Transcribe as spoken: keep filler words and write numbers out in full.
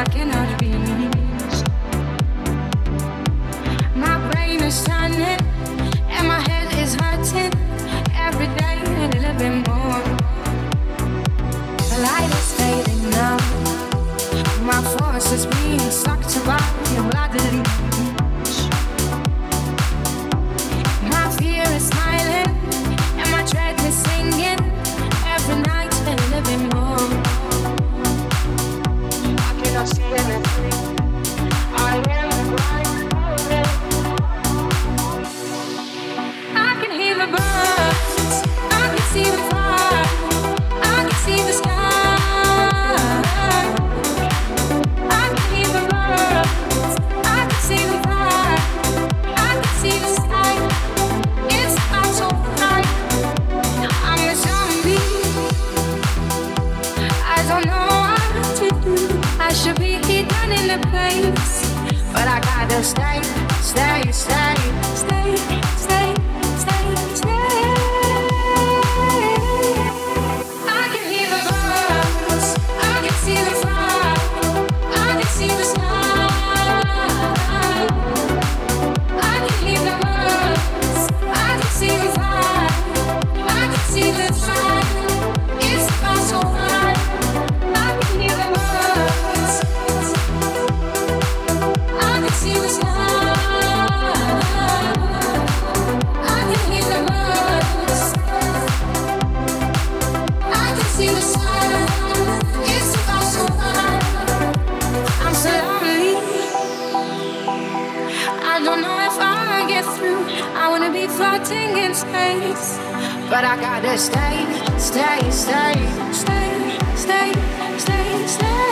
cannot reach. My brain is turning and my head is hurting every day a little bit more. The light is fading now. My force is being sucked by your bloody reach. My fear is smiling and my dread is singing every night a little bit more. I cannot see anything. I am blind. I can hear the birds. I can see the fire. I can see the sky. I can hear the birds. I can see the fire. I can see the sky. It's not so bright. I'm a zombie. I don't know what to do. I should be hidden in a place, but I gotta stay, stay, stay, stay, stay, stay, stay. I can hear the birds. I can see the fire. I can see the sky. I can hear the birds. I can see the fire. I can see the sun. It's not so bright. I can hear the birds. I can see the sky. I can hear the birds. I can see the sun. It's not so bright. I'm so lonely. I don't know if I'll get through. I wanna be floating in space, but I gotta stay, stay, stay, stay, stay, stay, stay.